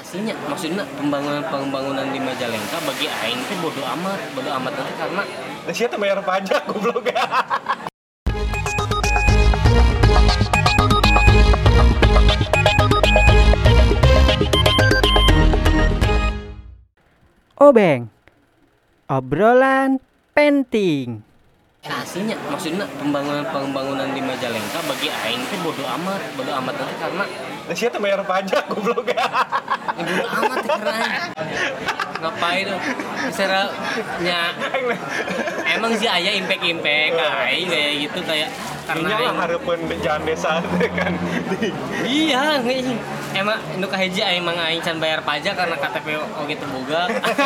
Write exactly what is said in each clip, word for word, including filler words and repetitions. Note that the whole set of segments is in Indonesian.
Aslinya maksudnya pembangunan pembangunan di Majalengka bagi aing teh bodo amat, bodo amat nanti karena Nah, siapa bayar pajak goblok. Obeng, obrolan penting. aslinya maksudnya pembangunan pembangunan di Majalengka bagi aing teh bodo amat, bodo amat nanti karena Nah, siapa bayar pajak goblok. ya bodo amat teh karena aing. Ngapain tuh? Misalnya nya emang sih aya impact-impact aing kayak gitu kayak karena Ini lah aing harapan jalan desa teh kan. iya nggak emang nu kahiji aing mang aing can bayar pajak karena K T P oge teu boga.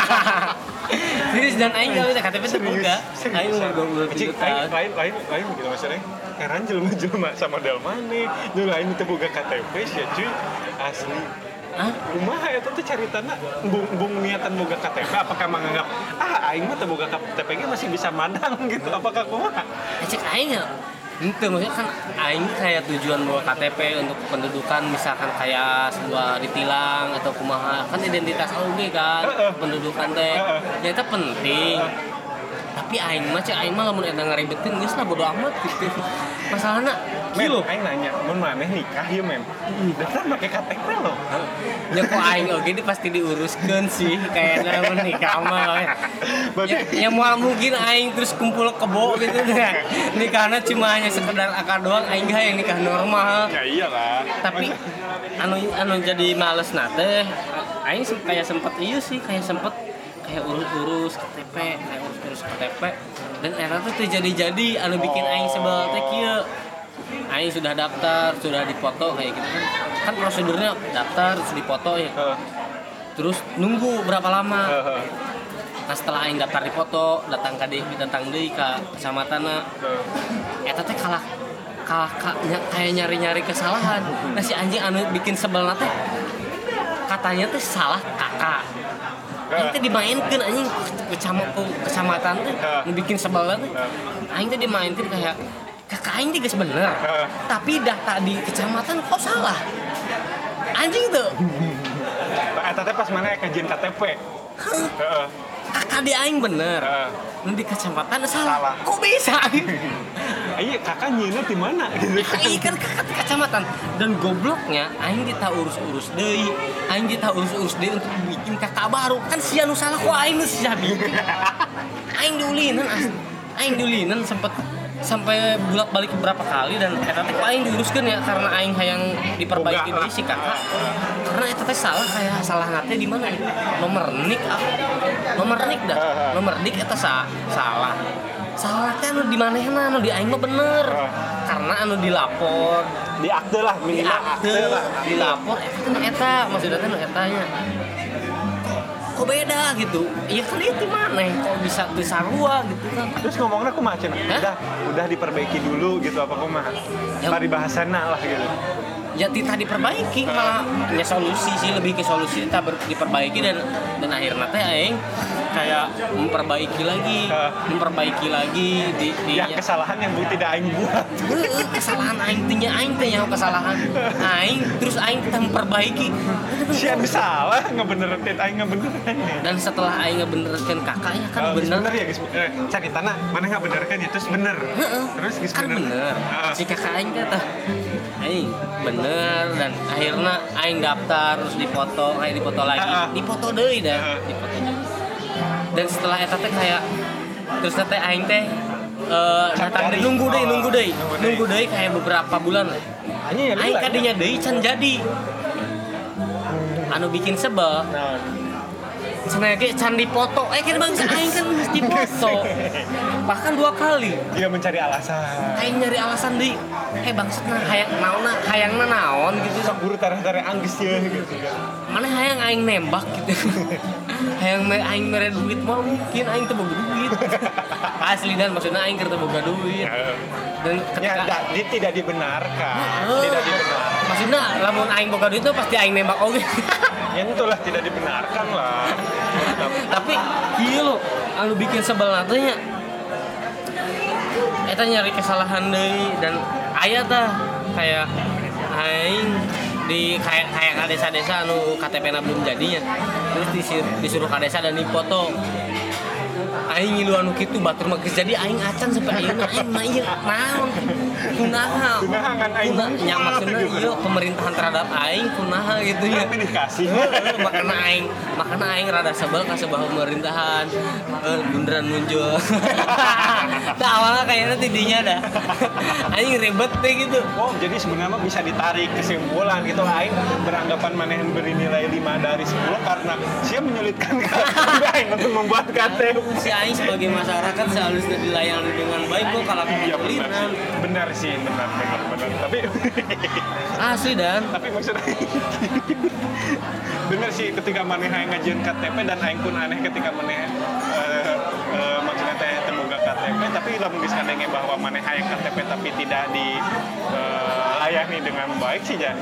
Serius dan aing gawe K T P teu boga. Aing umur dua puluh tujuh Cik, tahun. lain lain lain gitu maksudnya. Heran jelema-jelema sama dal maneh. Nu lain teu boga K T P sia cuy. Asli. Hah? Kumaha eta teh caritana bung bung niatan boga K T P apakah menganggap ah aing mah teu boga K T P ge masih bisa mandang gitu apakah kumaha? Eh, cek aing ya. Itu maksudnya kan aing kayak tujuan bawa K T P untuk pendudukan misalkan kayak sebuah ditilang atau kumaha kan identitas oge kan pendudukan teh. Ya itu penting. Tapi aing mah cek aing mah lamun eta ngaribetin geus lah bodo amat gitu. Masalahna Men, kieu aing nanya, mun maneh nikah ieu men. Daftar make K T P loh. nya kok aing oge di pasti diuruskeun sih kayaknya lamun nikah mah. Ya, ya moal mungkin aing terus kumpul kebo gitu kan. Nikahna cuma hanya sekedar akad doang aing gak yang nikah normal. Ya iyalah. Tapi anu anu jadi males nate aing sem- kayak sempet iya sih kayak sempet kayak urus-urus K T P kayak urus-urus K T P dan era tuh teu jadi-jadi anu bikin aing sebel teh kieu aing sudah daftar sudah dipoto kayak gitu kan kan prosedurnya daftar terus dipoto ya Heeh. terus nunggu berapa lama Heeh. nah setelah aing daftar dipoto datang ka deui datang deui ka kecamatanna eta teh kalah kalah ka- nya- kayak nyari-nyari kesalahan nah si anjing anu bikin sebel teh katanya teh salah kakak aing teh dimainkeun anjing kecamat kecamatan teh nu bikin sebel teh aing teh dimainkeun kayak kakak aing teh geus bener tapi data di kecamatan kok salah anjing tuh Eta teh pas mana kajian K T P. Heeh. kakak di aing bener Heeh. nu di kecamatan salah, Salah. kok bisa Iya, kakak nyeuna di mana gitu. aing kan kakak di kecamatan dan gobloknya aing kita urus-urus deui aing kita urus-urus deui untuk bikin kakak baru kan sia nu salah kok aing nu sia bikin aing diulinan asli aing diulinan sempet sampai bolak-balik beberapa kali dan eta teh aing diuruskeun ya karena aing hayang diperbaiki Boga deui si kakak karena eta teh salah kayak salah nate di mana nomor nik ah. nomor nik dah nomor nik eta sa salah salah teh anu di manehna anu di aing mah bener karena anu dilapor Di akte lah, di minimal akte akte lah. dilapor eta teh nu eta maksudna teh nu etanya kok beda gitu iya kan itu maneh kok bisa teu sarua gitu kan Terus ngomongnya aku macam udah udah diperbaiki dulu gitu apa kumaha? Ya. Tadi bahasana lah gitu. ya tidak diperbaiki malah ya solusi sih lebih ke solusi kita ber- diperbaiki dan dan akhirnya teh aing kayak memperbaiki lagi memperbaiki lagi di, di Yang kesalahan yang bu tidak aing buat. Heeh, kesalahan aing teh nya aing teh nyaho kesalahan aing terus aing kita memperbaiki Sian salah ngebenerin aing ngebenerin. dan setelah aing ngebenerkeun kakaknya kan Oh, geus bener bener ya guys. Eh, caritana mana nggak benerkan ya terus bener. Heeh. Terus geus kan bener Heeh. si kakak aing kata aing bener dan akhirnya aing daftar terus dipoto kayak dipoto lagi Heeh. dipoto deui dah Heeh. dipoto deui. Dan setelah eta teh kayak terus teh aing teh eh datang deui nunggu deui nunggu deui Nunggu deui. nunggu deui kayak beberapa bulan lah Anjing ya aing kadinya deui can jadi anu bikin sebel Nah, cenah ge can dipoto eh kan bangsa aing kan geus dipoto bahkan dua kali dia mencari alasan. aing nyari alasan deui eh bangsatna hayang naonna hayangna naon gitu Sok buru tareh-tareh anggeus ya gitu. mana hayang aing nembak gitu hayang me aing mere duit mah mungkin aing teu boga duit asli dan maksudnya aing keur teu boga duit dan Ya, ketika da, dia tidak dibenarkan. Oh. Tidak dibenarkan. maksudnya lamun aing boga duit tuh pasti aing nembak oge Ya itulah tidak dibenarkan lah. tapi ieu lo anu bikin sebel teh nya eta nyari kesalahan deui dan aya tah kayak aing di kayak kayak ka desa-desa anu K T P-na belum jadinya. Terus disuruh, disuruh ka desa dan dipoto. Aing ngilu anu kitu batur mah geus jadi aing acan sampai ayeuna aing mah ieu naon kunaha Kunaha kan aing nya maksudna ieu pemerintahan terhadap aing kunaha gitu ya tapi dikasih makana aing makana aing rada sebel ka sebuah pemerintahan eh bundaran muncul tah awalnya kayaknya tidinya dah aing ribet teh gitu. Oh, jadi sebenarnya bisa ditarik kesimpulan gitu. Aing beranggapan manehan beri nilai lima dari sepuluh karena dia menyulitkan Aing untuk membuat K T P. Si aing sebagai masyarakat seharusnya dilayani dengan baik kok kalau Iya benar kesulitan. sih. Benar sih, benar benar benar. Tapi Asli dan tapi maksudnya bener sih ketika maneh aing ngajian K T P dan aing pun aneh ketika maneh eh, eh, maksudnya teh temuga K T P tapi lamun geus kadenge bahwa maneh hayang K T P tapi tidak dilayani dengan baik sih ya.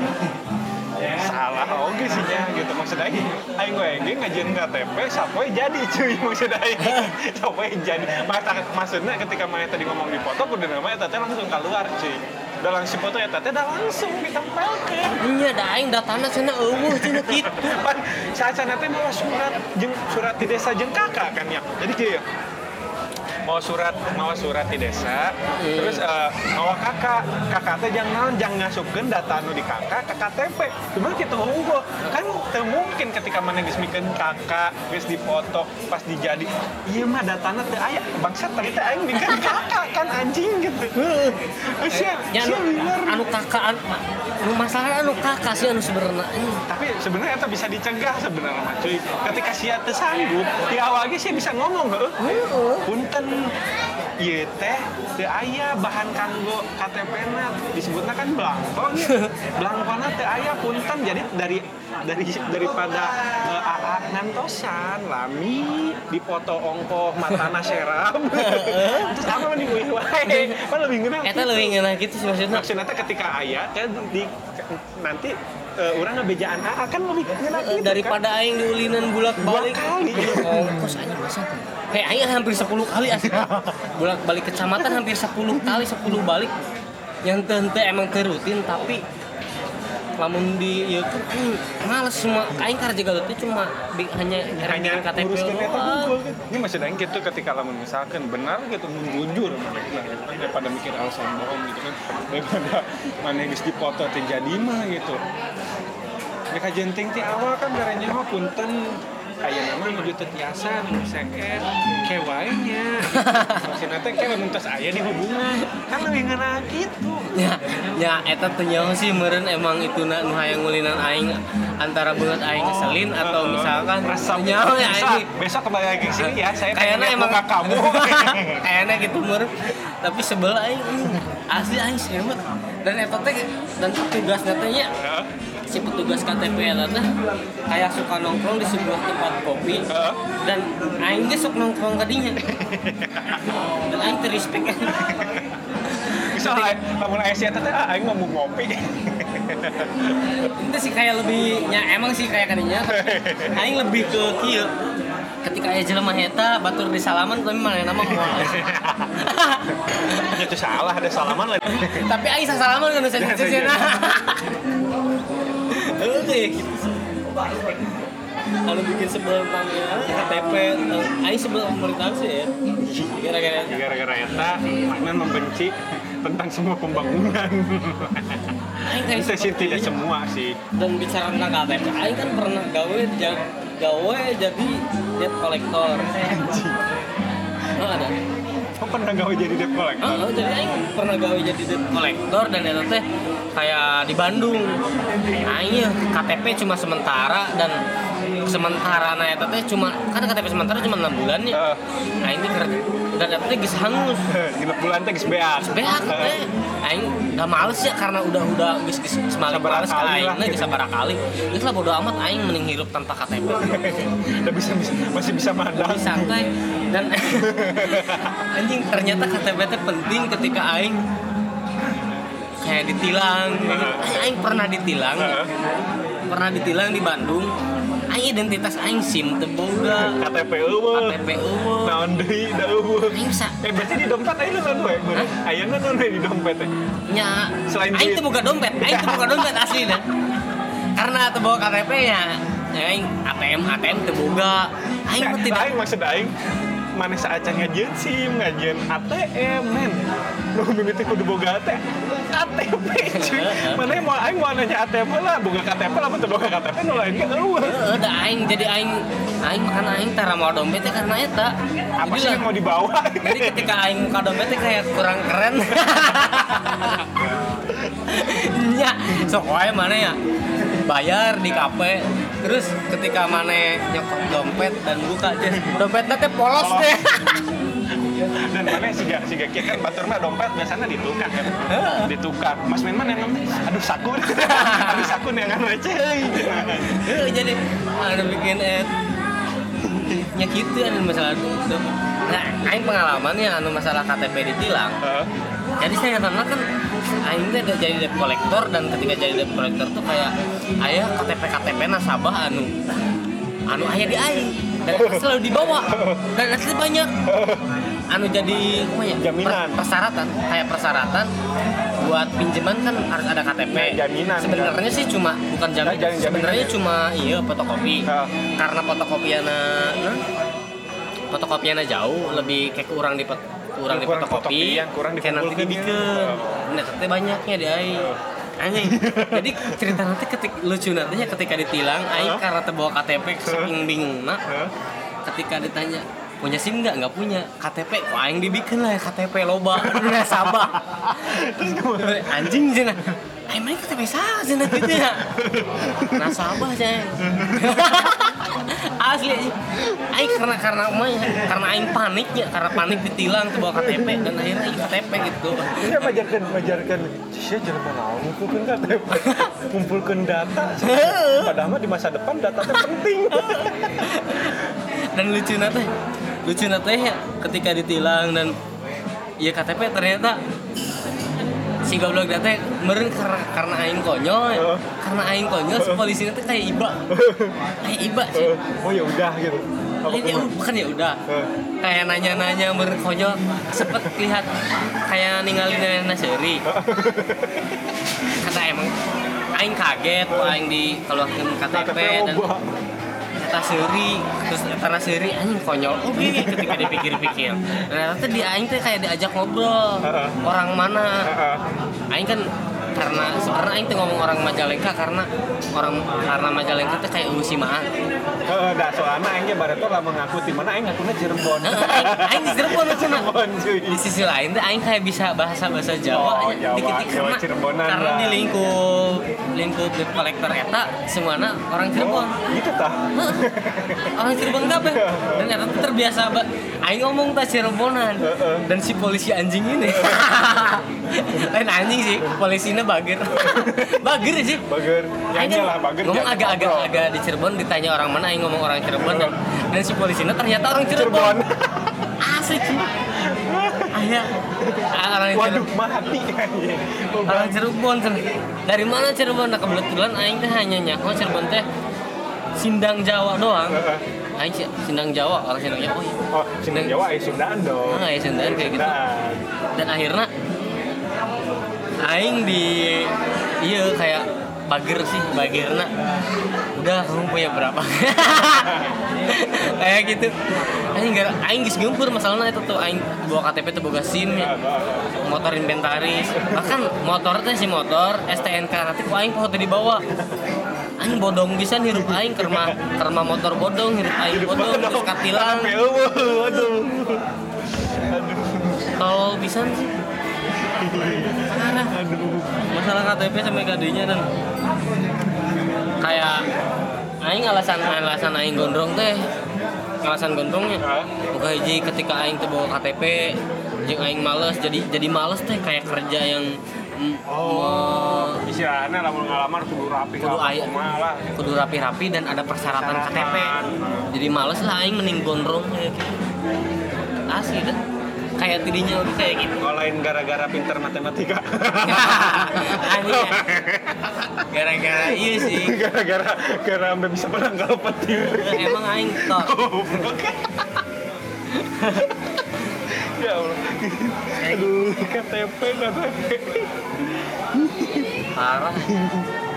Salah oge sih ya gitu maksudnya aing gue ge ngajian K T P sapoe jadi cuy maksudnya aing sapoe jadi Masa, maksudnya ketika maneh tadi ngomong di foto kudu nama eta teh langsung keluar cuy udah langsung foto eta teh udah langsung ditempelkeun. nya da aing datana cenah eueuh cenah kitu. Pan saacana teh mawa surat jeung surat di desa jeung kakak kan ya. Jadi kieu ya. Mau surat mau surat di desa, hmm. terus uh, mawa kakak, kakak teh jangan jangan ngasupkeun data anu di kakak ke K T P. Cuma kitu unggul. Kan teu mungkin ketika mana geus mikeun kakak, geus dipoto pas dijadi ieu mah datana teu aya. Bangsat tadi teh aing bikin kakak kan anjing gitu. Heeh. Sia Ya anu, anu kakak anu, anu masalah anu kakak sih anu sebenarnya. Tapi sebenarnya itu bisa dicegah sebenarnya mah cuy. Ketika sia teu sanggup, di awal ge sih bisa ngomong heuh. Punten ieu teh teu aya bahan kanggo K T P-na disebutna kan belangko nya. Belangkona teu aya punten jadi dari dari daripada uh, A A ngantosan lami dipoto ongkoh matana serap. Terus apa mah diuih wae. Pan lebih ngeunah. Eta leuwih ngeunah kitu sih maksudna. Maksudnya teh ketika aya teh di nanti uh, urang ngabejaan A A kan lebih ngeunah gitu Daripada kan? aing diulinan bulak-balik Dua kali. ongkos aing masa tuh. Hei aing hampir sepuluh kali asli. Bolak-balik kecamatan hampir sepuluh kali sepuluh balik. Yang teu teu emang teu rutin tapi lamun di ieu kan males semua aing karja galut itu cuma bi, hanya hanya K T P nguruskeun eta doang. unggul kan. Ini maksud aing kitu ketika lamun misalkan benar gitu mun jujur mereka daripada mikir alasan bohong gitu kan. Daripada maneh geus dipoto teh jadi mah gitu. Mereka jenting ti awal kan garanya mah punten aya nama nuju teu tiasa nu seket kewae nya. Maksudna teh ke mun tos aya di hubungan kan leuwih ngeunah kitu. Ya, ya eta teh nyaho sih meureun emang ituna nu hayang ngulinan aing antara beungeut aing ngeselin atau misalkan nyaho ya ini Besok kembali lagi ke sini ya, saya kayaknya pengen emang muka kamu. kayaknya gitu meureun tapi sebel aing asli aing semet dan eta teh dan tugasna teh nya si petugas K T P eta teh kayak suka nongkrong di sebuah tempat kopi dan aing ge sok nongkrong ka dinya dan aing teu respect Bisa lamun aya si eta teh ah aing mau ngopi. itu sih kayak lebih ya emang sih kayak kadinya aing lebih ke kieu ketika aya jelema eta batur di salaman tapi manehna mah moal Itu salah ada salaman lagi. tapi aing sasalaman kan sesena oke gitu kalau bikin sebel tentang K T P aing sebel pemerintah sih ya gara-gara Gara-gara eta makna membenci tentang semua pembangunan. aing kayak Itu sih tidak semua sih. dan bicara tentang K T P aing kan pernah gawe ja- gawe jadi debt collector oh, ada Kok pernah gawe jadi debt collector? oh, oh, jadi aing pernah gawe jadi debt collector dan eta teh kayak di Bandung aing K T P cuma sementara dan sementara na eta teh cuma kan K T P sementara cuma enam bulan ya Heeh. aing teh kerja dan eta teh geus hangus Genep bulan teh geus beak. beak teh aing udah males ya karena udah udah geus geus semali Sabaraha males ka kali aing lah na gitu. geus sabaraha kali geus lah bodo amat aing mending hirup tanpa K T P Udah bisa, bisa masih bisa madang. lebih santai dan anjing ternyata K T P teh penting ketika aing kayak ditilang aing pernah ditilang pernah ditilang di Bandung aing identitas aing SIM teu boga K T P eueuh. K T P eueuh Naon deui da eueuh. aing sa Eh berarti di dompet aing naon we? Aya naon we di dompet teh? nya Selain aing duit. teu boga dompet aing teu boga dompet asli dah karena teu bawa K T P nya ya aing A T M A T M teu boga aing mah tidak aing maksud aing mana saacan ngajian SIM, ngajian A T M, men. Nu mimiti kudu boga teh K T P cuy. Mana mau aing mau nanya A T M lah, boga K T P lah, teu boga K T P nu lain ge eueuh. Heeh, da aing jadi aing aing makan aing tara mau dompet teh karena eta. Apa sih yang mau dibawa? Jadi ketika aing muka dompet teh kayak kurang keren. Nya, sok wae mana ya? Bayar di kafe. Terus ketika mana nyokot dompet dan buka aja dompetnya teh polos teh. Dan mana siga siga kieu kan batur mah dompet biasanya ditukar kan. Ditukar. Mas men mana emang aduh saku. Aduh saku neangan we ceuy. Heeh, jadi anu bikin et nya kitu anu masalah itu. Nah, aing pengalamannya anu masalah K T P ditilang. Heeh. Jadi saya karena kan aing teh jadi debt collector dan ketika jadi debt collector tuh kayak aya K T P K T P nasabah anu anu aya di aing dan itu selalu dibawa dan asli banyak anu jadi apa ya Jaminan. per- persyaratan kayak persyaratan buat pinjaman kan harus ada K T P. Ya, jaminan, Sebenarnya sih cuma bukan jamin. Nah, jangan jaminan Sebenarnya ya. cuma iya fotokopi. Ah. Karena fotokopiana nah, fotokopiana jauh lebih kayak kurang di pot- kurang di Kurang fotokopi fotokopian, kurang kayak nanti dikumpulkeun ya. dibikin. Nah, tapi banyaknya di aing. Anjing. Jadi cerita nanti ketika lucu nantinya ketika ditilang aing karena teu bawa K T P saking bingungna. Heeh. Ketika ditanya punya SIM nggak nggak punya K T P kok aing dibikin lah ya K T P loba nasabah terus anjing cenah aing mah K T P saha cenah gitu ya nasabah cenah asli aing karena karena mah karena aing paniknya karena panik ditilang tuh bawa K T P dan akhirnya aing K T P gitu. Ini majarkan majarkan sia jangan mau ngumpulkeun K T P. Kumpulkeun data. Padahal mah di masa depan data teh penting. Dan lucu teh lucu teh ya ketika ditilang dan ya K T P ternyata si goblok teh meureun karena karena aing konyol ya. Uh. Karena aing konyol si polisi teh kayak iba kayak iba sih Oh ya udah gitu. Apa Ini, ya, kumaha? bukan ya udah Uh. kayak nanya-nanya meureun konyol sempet lihat kayak ninggalin nenek seuri kata emang aing kaget kok aing dikeluarkan K T P dan loba. kata seuri terus karena seuri anjing konyol oke ketika dipikir-pikir ternyata di aing teh kayak diajak ngobrol Heeh. orang mana Heeh. aing kan karena sebenarnya aing teh ngomong orang Majalengka karena orang karena Majalengka teh kayak Usi Maan. Heeh, da soalna aing ge bareto lah mengaku ti mana aing ngakuna Cirebon. Heeh, aing aing di Cirebon cenah. Cirebon cuy. Di sisi lain teh aing kayak bisa bahasa-bahasa Jawa Oh, Jawa, dikit-dikit Jawa karena, Cirebonan karena lah. di lingkup lingkup debt collector eta semuanya orang Cirebon. Gitu tah. Orang Cirebon kabeh dan ternyata tuh terbiasa ba aing ngomong tah Cirebonan dan si polisi anjing ini lain anjing sih polisinya bager bager sih Bager. aing Nyanyi lah bager. ngomong jangan agak-agak ngobrol. agak di Cirebon ditanya orang mana aing ngomong orang Cirebon dan, dan si polisinya ternyata orang Cirebon, Cirebon. asli sih ayah orang Waduh, Cirebon mati anjing. orang Cirebon cenah. Dari mana Cirebon? Nah kebetulan aing teh hanya nyako Cirebon teh Sindang Jawa doang. Heeh. Aing sih Sindang Jawa, orang Sindang Jawa. Oh, iya. Oh, Sunda Jawa ya Sundaan dong. Ah, ya Sundaan kayak gitu. Sundaan. Dan akhirnya aing di iya kayak bager sih, bagerna. Udah kamu punya berapa? Kayak gitu. Aing gara aing geus geumpeur masalahna eta tuh aing bawa K T P teh boga SIM ya. Motor inventaris. Bahkan motor teh si motor S T N K nanti ku aing poho teu dibawa. Aing bodong pisan hirup aing keur mah keur mah motor bodong hirup aing bodong terus katilang. Waduh. Tol pisan sih. Parah. Masalah K T P sampai kadinya dan kayak aing alasan alasan aing gondrong teh alasan gondrongnya bukan hiji ketika aing teh bawa K T P jeung aing males jadi jadi males teh kayak kerja yang mm, Oh, istilahnya lamun ngalamar kudu rapi. kudu aya malah. kudu rapi-rapi dan ada persyaratan K T P jadi males lah aing mending gondrong kayak gitu asli dah kayak tidinya udah kayak gitu Kalau lain gara-gara pinter matematika. anjing ya gara-gara iya sih Gara-gara gara sampai bisa menang kalau petir. emang aing tok Goblok. Ya Allah. Aduh, K T P K T P. parah